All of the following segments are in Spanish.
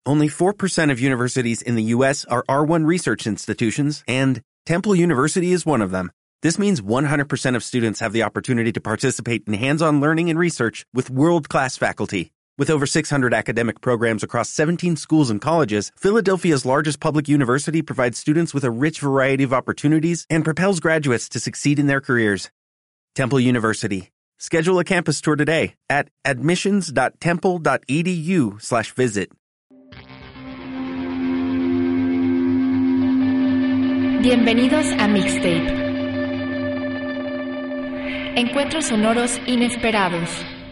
Only 4% of universities in the U.S. are R1 research institutions, and Temple University is one of them. This means 100% of students have the opportunity to participate in hands-on learning and research with world-class faculty. With over 600 academic programs across 17 schools and colleges, Philadelphia's largest public university provides students with a rich variety of opportunities and propels graduates to succeed in their careers. Temple University. Schedule a campus tour today at admissions.temple.edu/visit. Bienvenidos a Mixtape. Encuentros sonoros inesperados.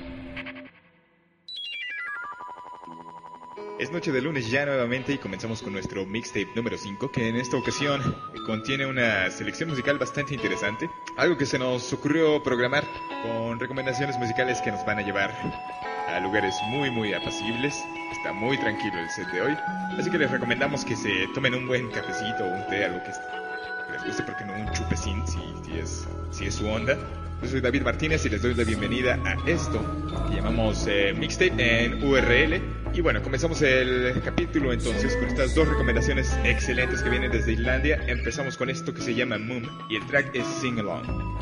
Es noche de lunes ya nuevamente y comenzamos con nuestro Mixtape número 5, que en esta ocasión contiene una selección musical bastante interesante. Algo que se nos ocurrió programar con recomendaciones musicales que nos van a llevar a lugares muy apacibles. Está muy tranquilo el set de hoy, así que les recomendamos que se tomen un buen cafecito o un té, algo que les guste, porque no un chupecín si es su onda. Yo soy David Martínez y les doy la bienvenida a esto que llamamos Mixtape en URL. Y bueno, comenzamos el capítulo entonces con estas dos recomendaciones excelentes que vienen desde Islandia. Empezamos con esto que se llama Moon y el track es Sing Along.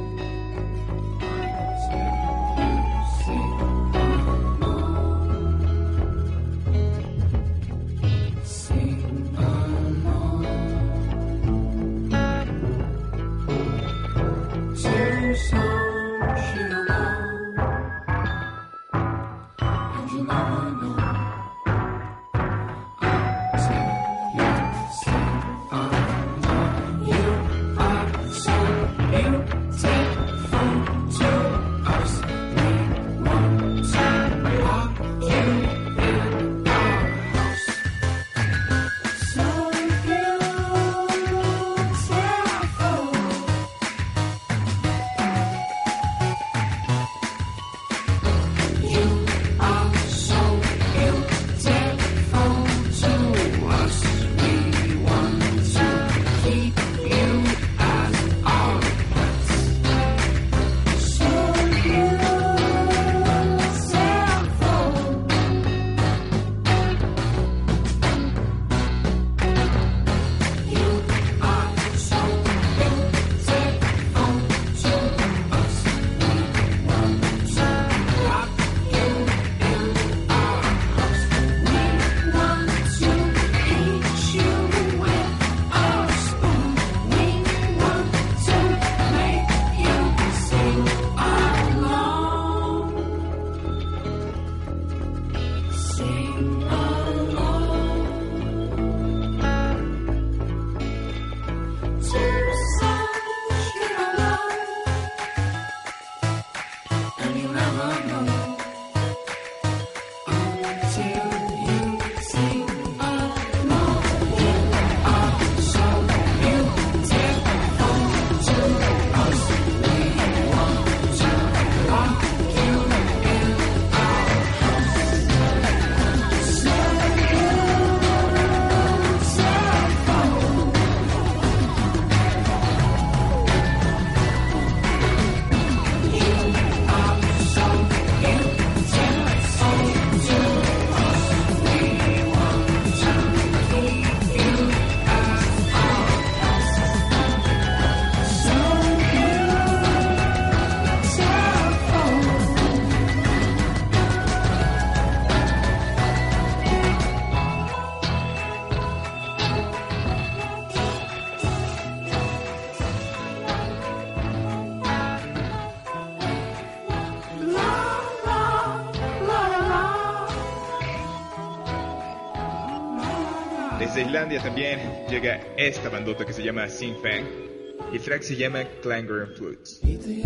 Desde Islandia también llega esta bandota que se llama Sing Fang y el track se llama Clangor and Flutes.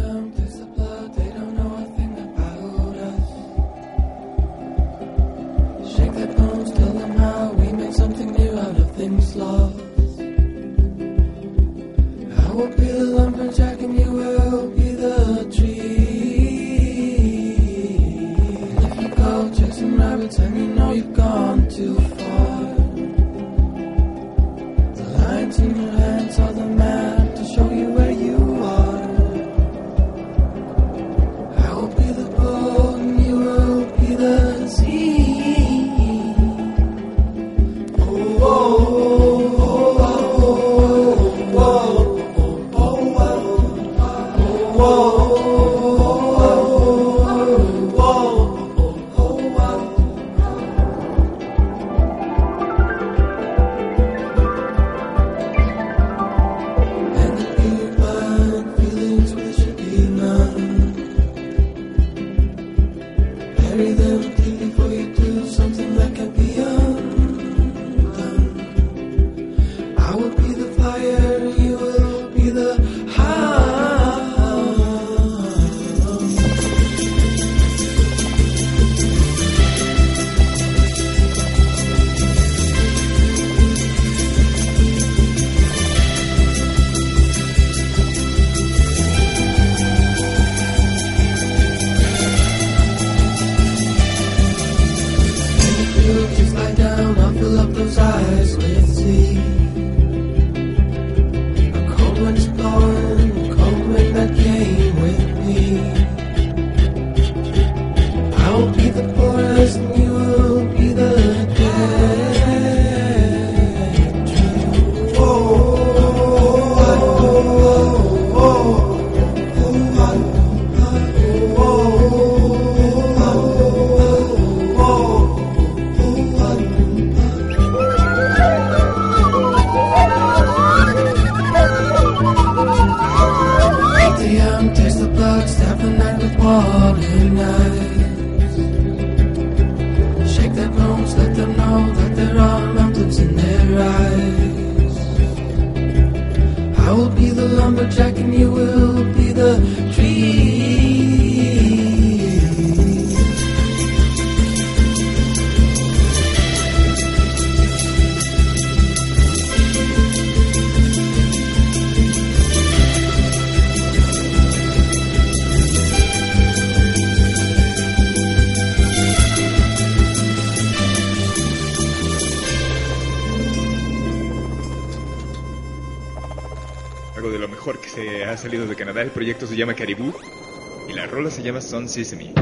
Shake their bones, tell them how we make something new out of things lost. I will be the lumberjack and you will be the tree. And if you go chasing rabbits and you know you've gone too far, the lines in your hands are the map to show you where you are. lo mejor que se ha salido de Canadá. El proyecto se llama Caribou y la rola se llama Sun Sesame.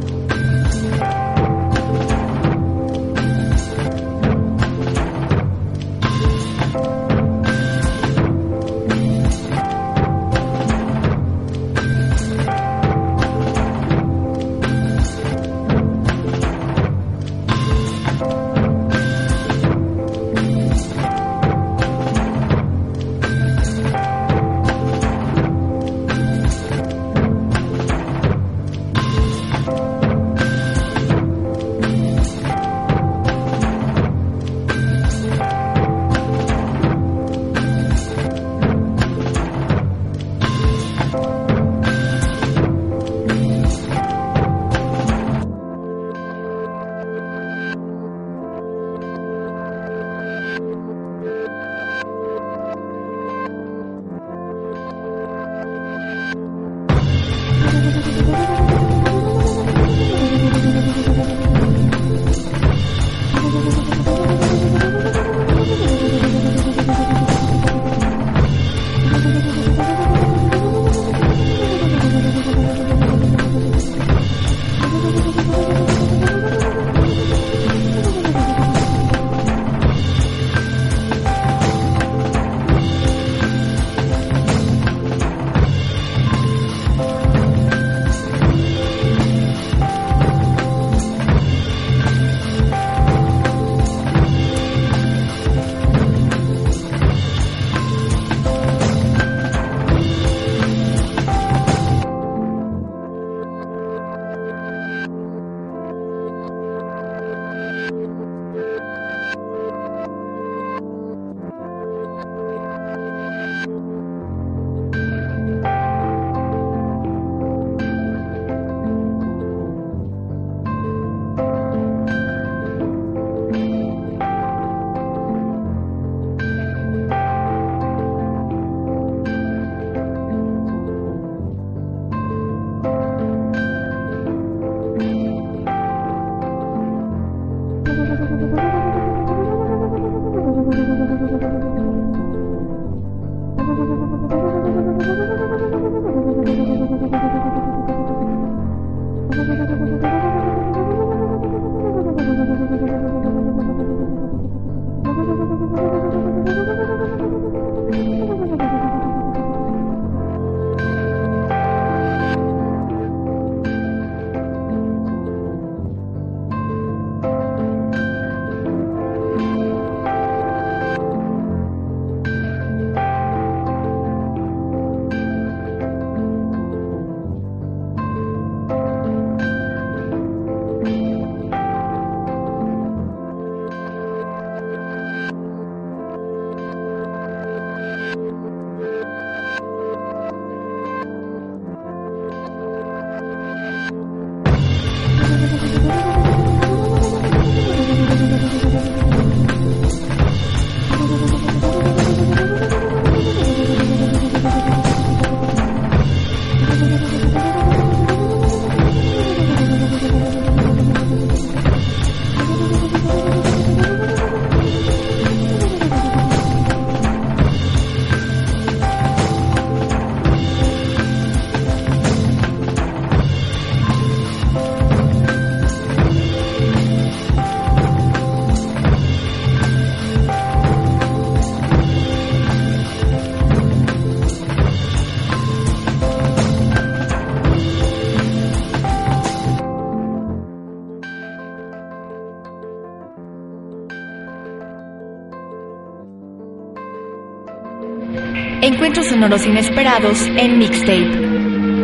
Encuentros sonoros inesperados en Mixtape.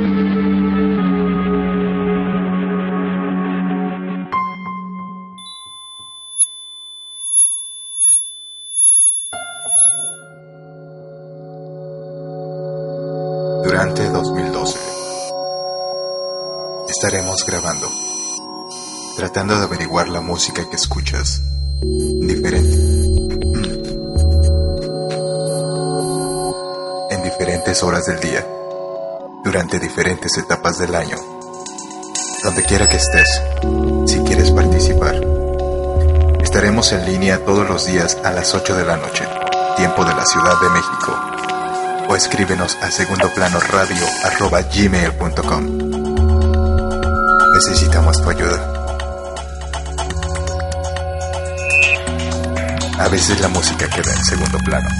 Durante 2012 estaremos grabando, tratando de averiguar la música que escuchas diferente. En diferentes horas del día, durante diferentes etapas del año, donde quiera que estés, si quieres participar. Estaremos en línea todos los días a las 8 de la noche, tiempo de la Ciudad de México. o escríbenos a segundoplanoradio@gmail.com. Necesitamos tu ayuda. A veces la música queda en segundo plano.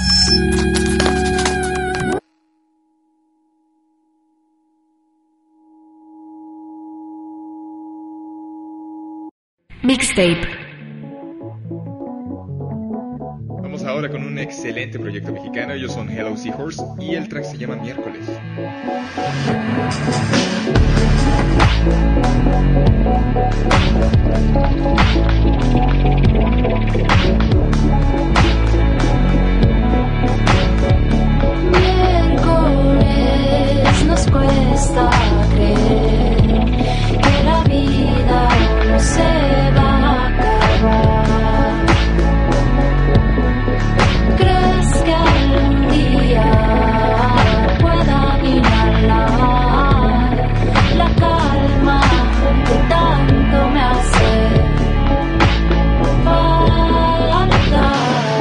Mixtape. Vamos ahora con un excelente proyecto mexicano. Ellos son Hello Seahorse y el track se llama Miércoles. Miércoles nos cuesta creer que la vida no se va a acabar. ¿Crees que algún día pueda inhalar la calma que tanto me hace falta?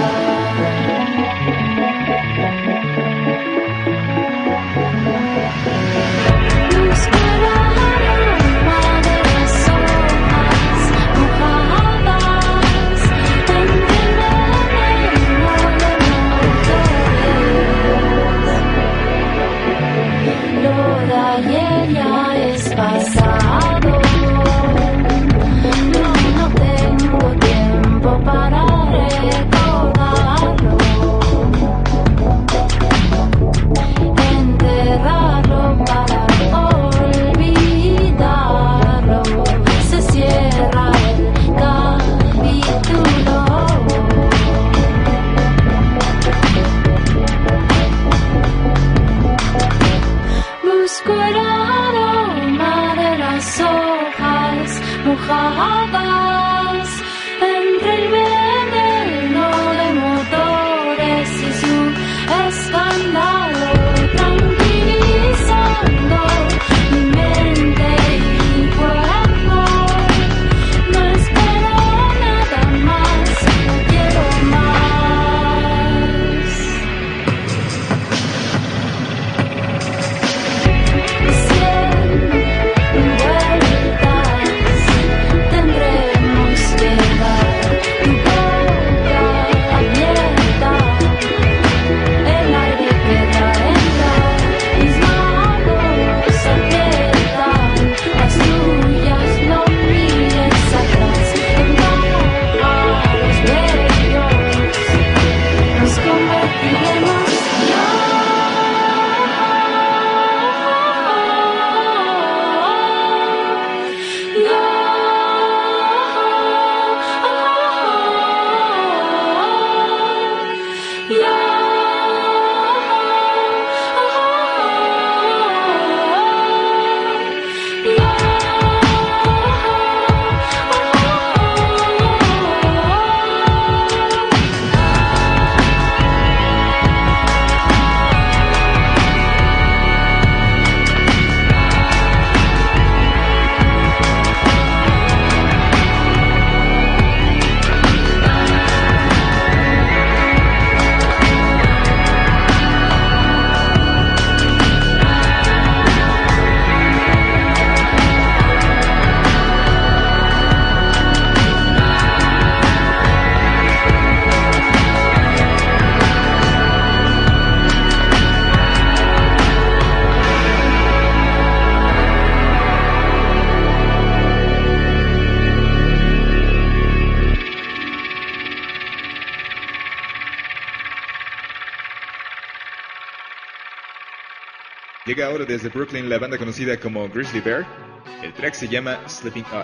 Llega ahora desde Brooklyn la banda conocida como Grizzly Bear. El track se llama Sleeping Up.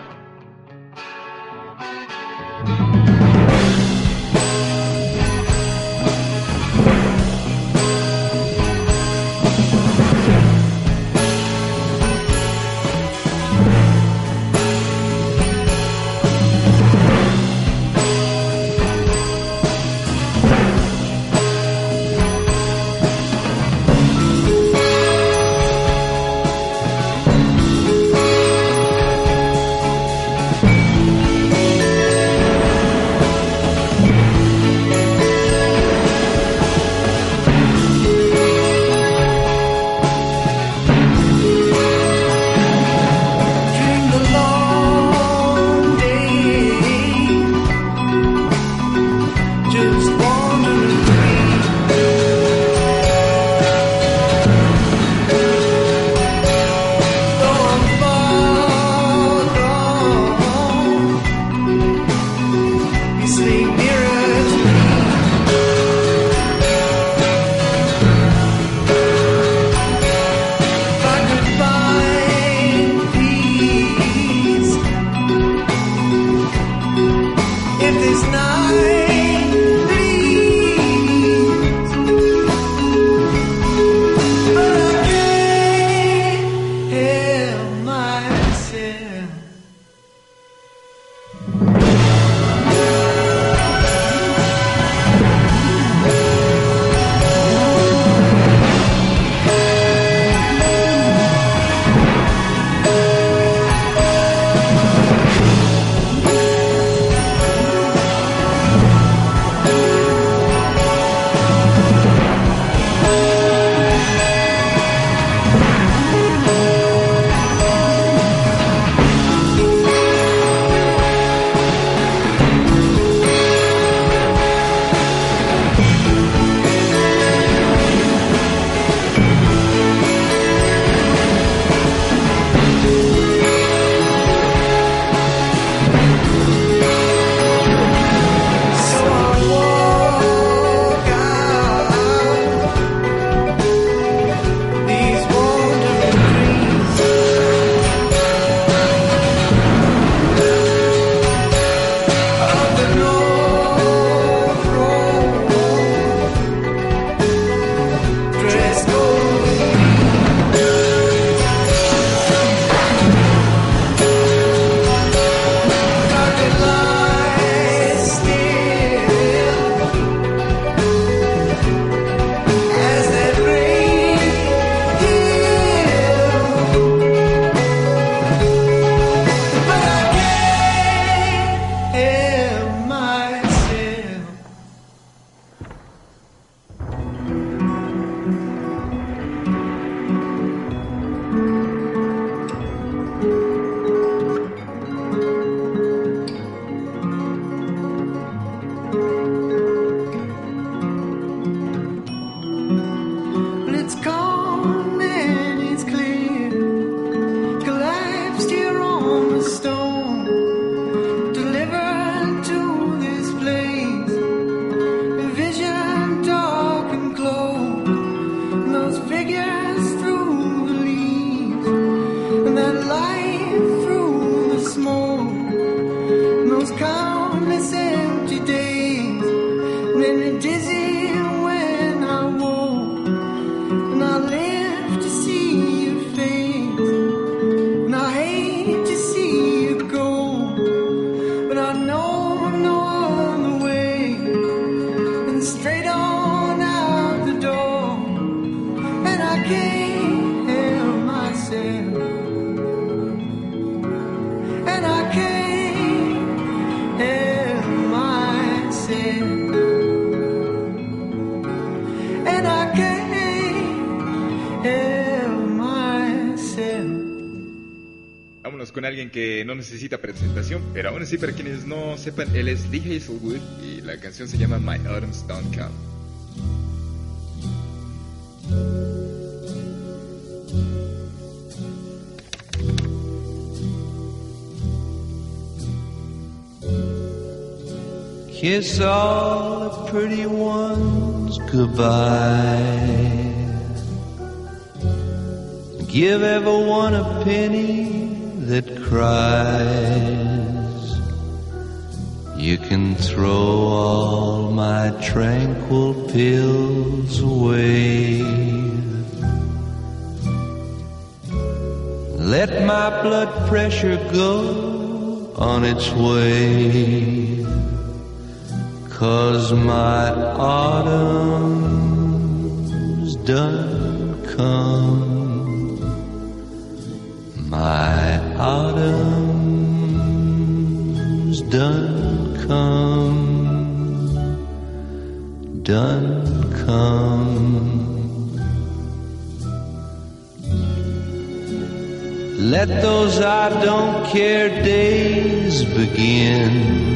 and I can't help myself. Vámonos con alguien que no necesita presentación, pero aún así para quienes no sepan, él es Lee Hazlewood y la canción se llama My Autumns Don't Come. Kiss all the pretty ones goodbye. Give everyone a penny that cries. You can throw all my tranquil pills away. Let my blood pressure go on its way. 'Cause my autumn's done come. My autumn's done come. Done come. Let those I don't care days begin.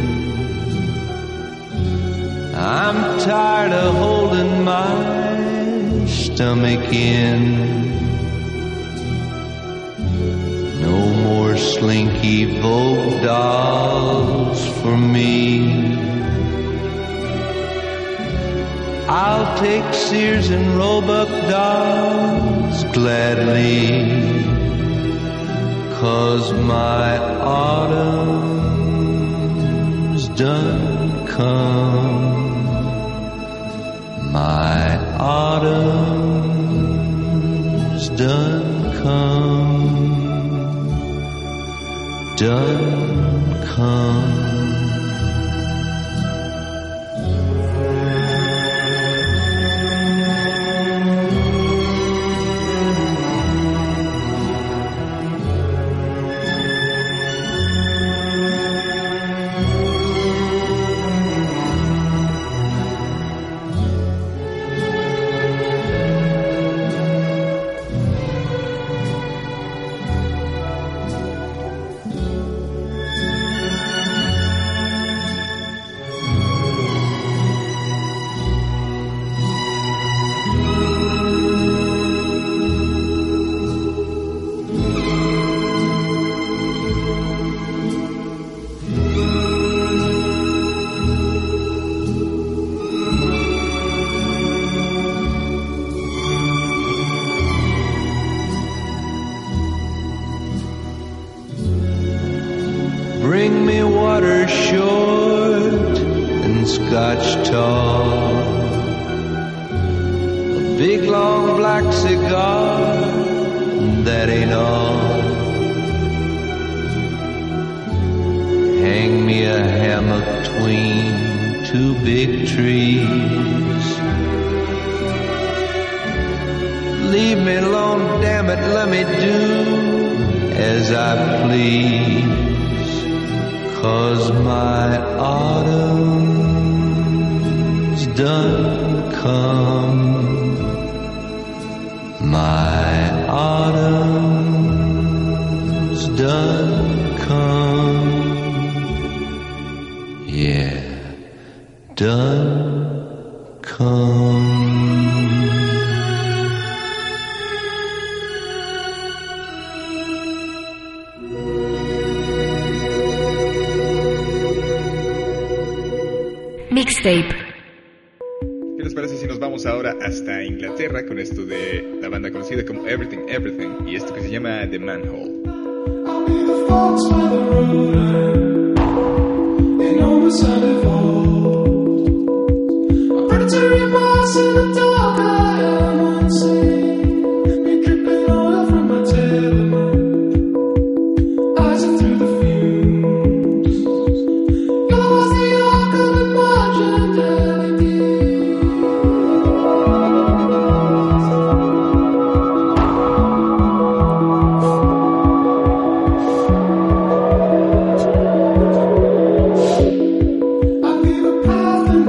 I'm tired of holding my stomach in. No more slinky Vogue dolls for me. I'll take Sears and Roebuck dolls gladly. 'Cause my autumn's done come. My autumn's done come. Done come. Bring me water short and scotch tall. A big long black cigar, that ain't all. Hang me a hammock between two big trees. Leave me alone, damn it, let me do as I please. 'Cause my autumn's done come. My autumn's done come. Yeah, done come. Mixtape. ¿Qué les parece si nos vamos ahora hasta Inglaterra con esto de la banda conocida como Everything Everything y esto que se llama The Manhole? I'll be the fox by the road, and almost unfold. A predatory mouse in the dark, I am unseen. Me dripping oil from my tail, eyes are through the fumes. Yellow was the arc of a margin delicate. I leave a path inside.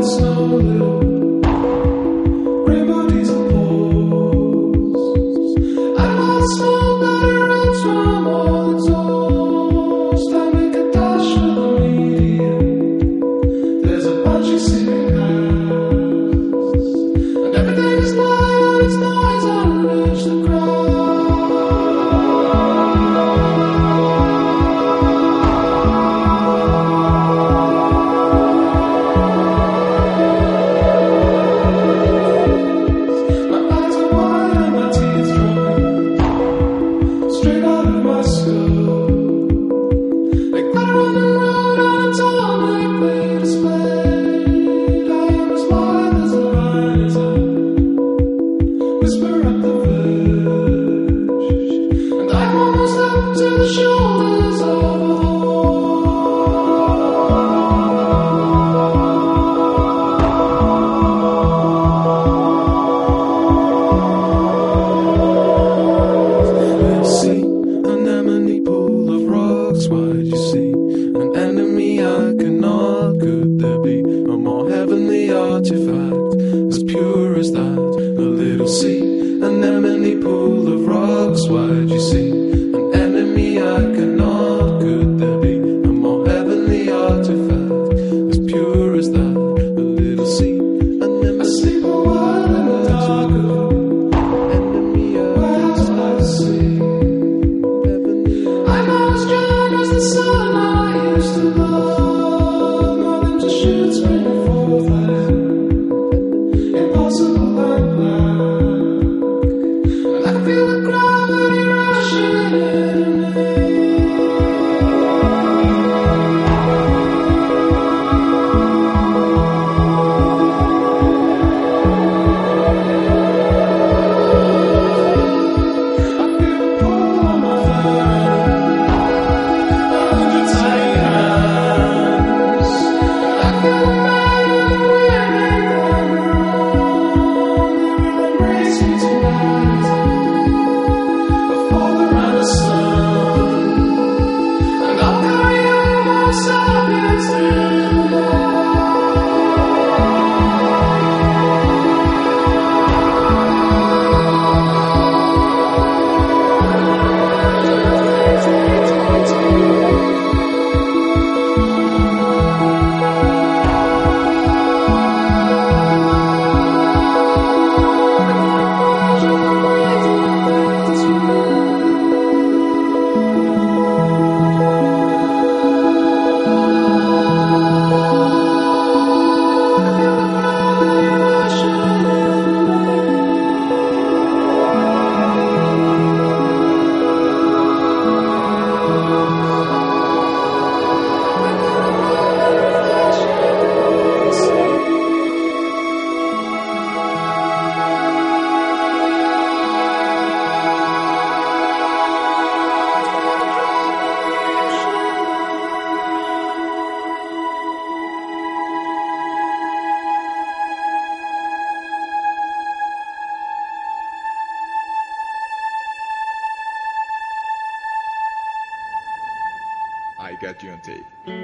Got You on Tape.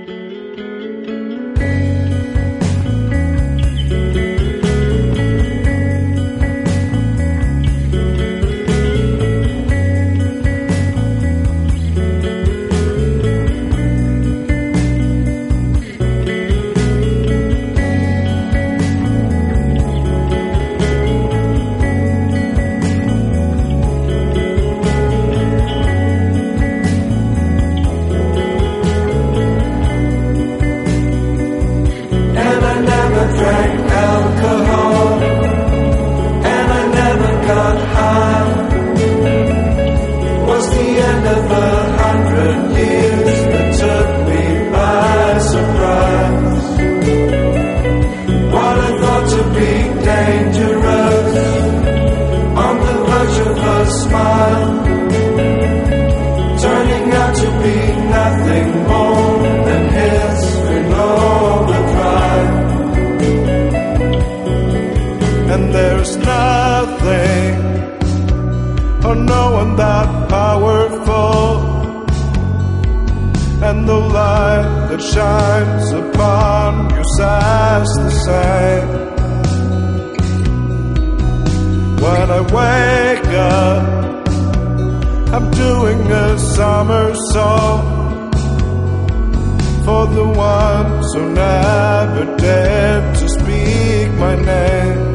And the light that shines upon your sigh's the same. doing a somersault for the ones who never dared to speak my name.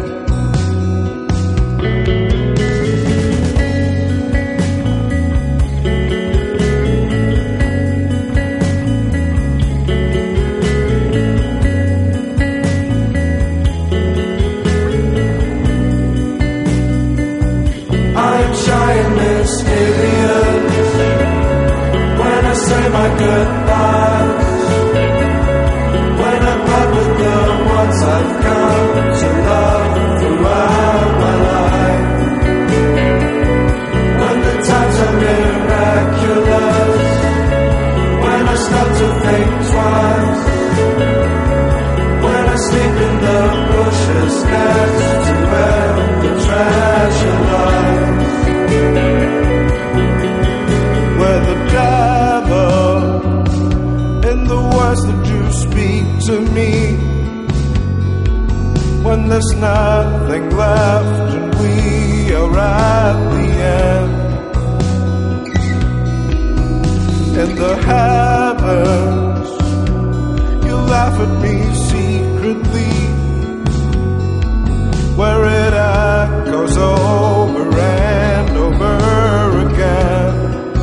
When I say my goodbyes, when I part with the ones I've come to love throughout my life, when the times are miraculous, when I start to think twice, when I sleep in the bushes next to where the treasure lies. Where the devil in the words that you speak to me, when there's nothing left and we are at the end. In the heavens you laugh at me secretly, where it echoes over and over again.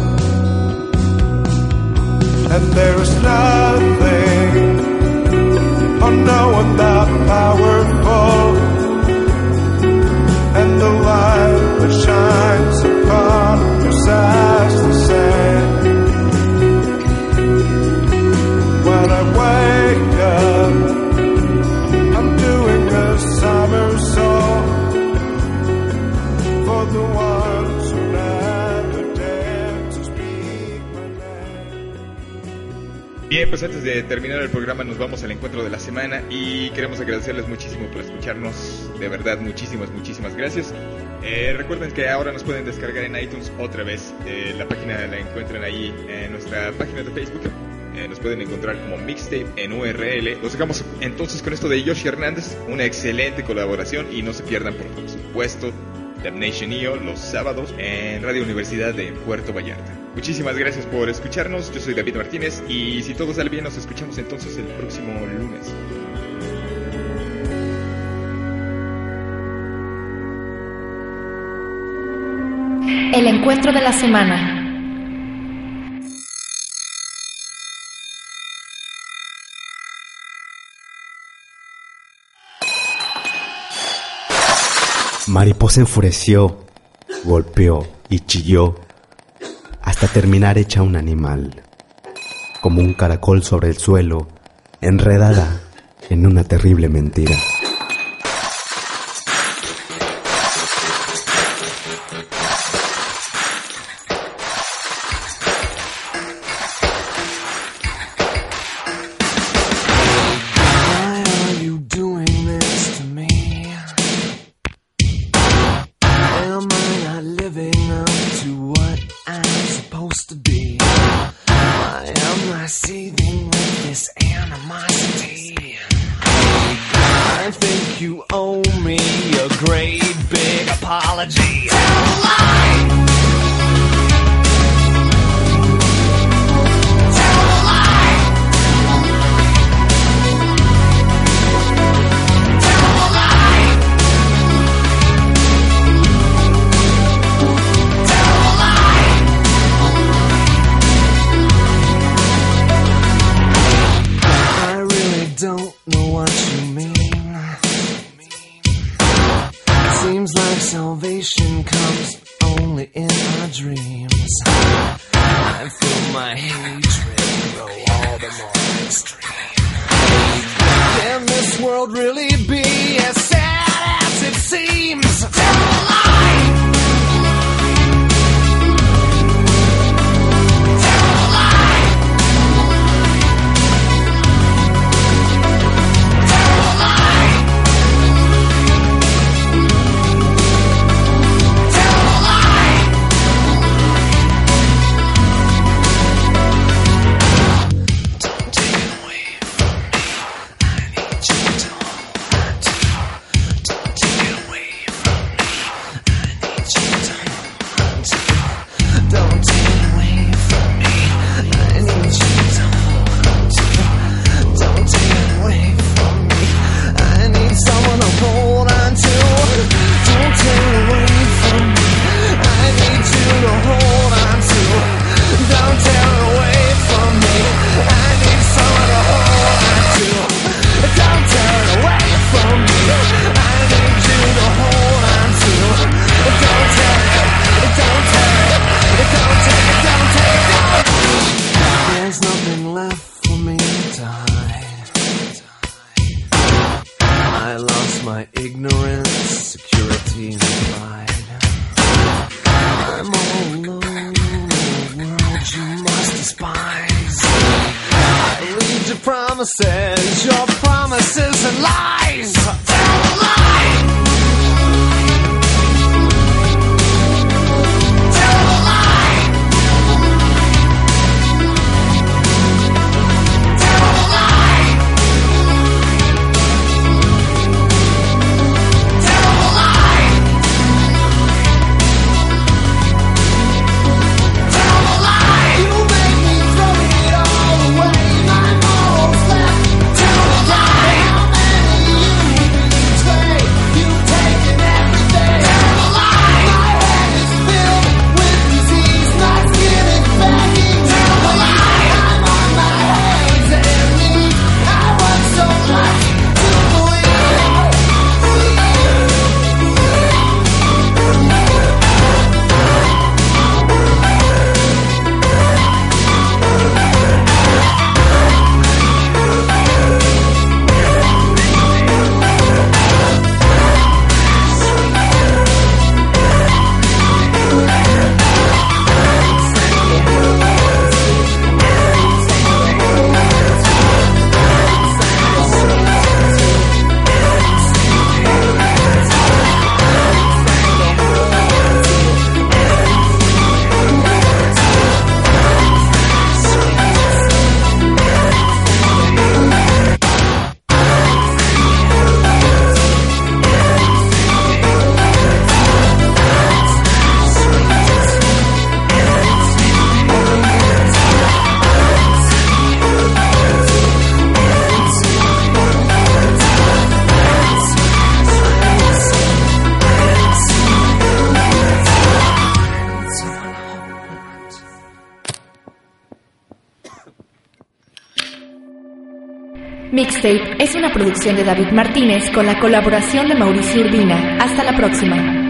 And there is nothing or no one that powerful, and the light that shines upon us as the same. When I wake up, I'm doing a somersault for the ones who never dared to speak my name. Bien, pues antes de terminar el programa nos vamos al encuentro de la semana y queremos agradecerles muchísimo por escucharnos, de verdad muchísimas gracias. Recuerden que ahora nos pueden descargar en iTunes otra vez, la página la encuentran ahí en nuestra página de Facebook, nos pueden encontrar como Mixtape en URL. Los dejamos entonces con esto de Yoshi Hernández, una excelente colaboración, y no se pierdan por supuesto Damnation EO los sábados en Radio Universidad de Puerto Vallarta. Muchísimas gracias por escucharnos, yo soy David Martínez y si todo sale bien nos escuchamos entonces el próximo lunes. El encuentro de la semana. Mariposa enfureció, golpeó y chilló hasta terminar hecha un animal, como un caracol sobre el suelo, enredada en una terrible mentira. lost my ignorance, security, and pride. I'm all alone in a world you must despise. I lead your promises and lies. Tell a lie. Tell a lie. Tell a lie. Tell a lie. Tell a lie. You make me throw it all away. My morals left. Tell a lie. How many you betray? You've taken everything. Tell a lie. My head is filled with disease, not giving back. Tell a lie. I'm on my hands and knees. I want so much to believe. Mixtape es una producción de David Martínez con la colaboración de Mauricio Urbina. Hasta la próxima.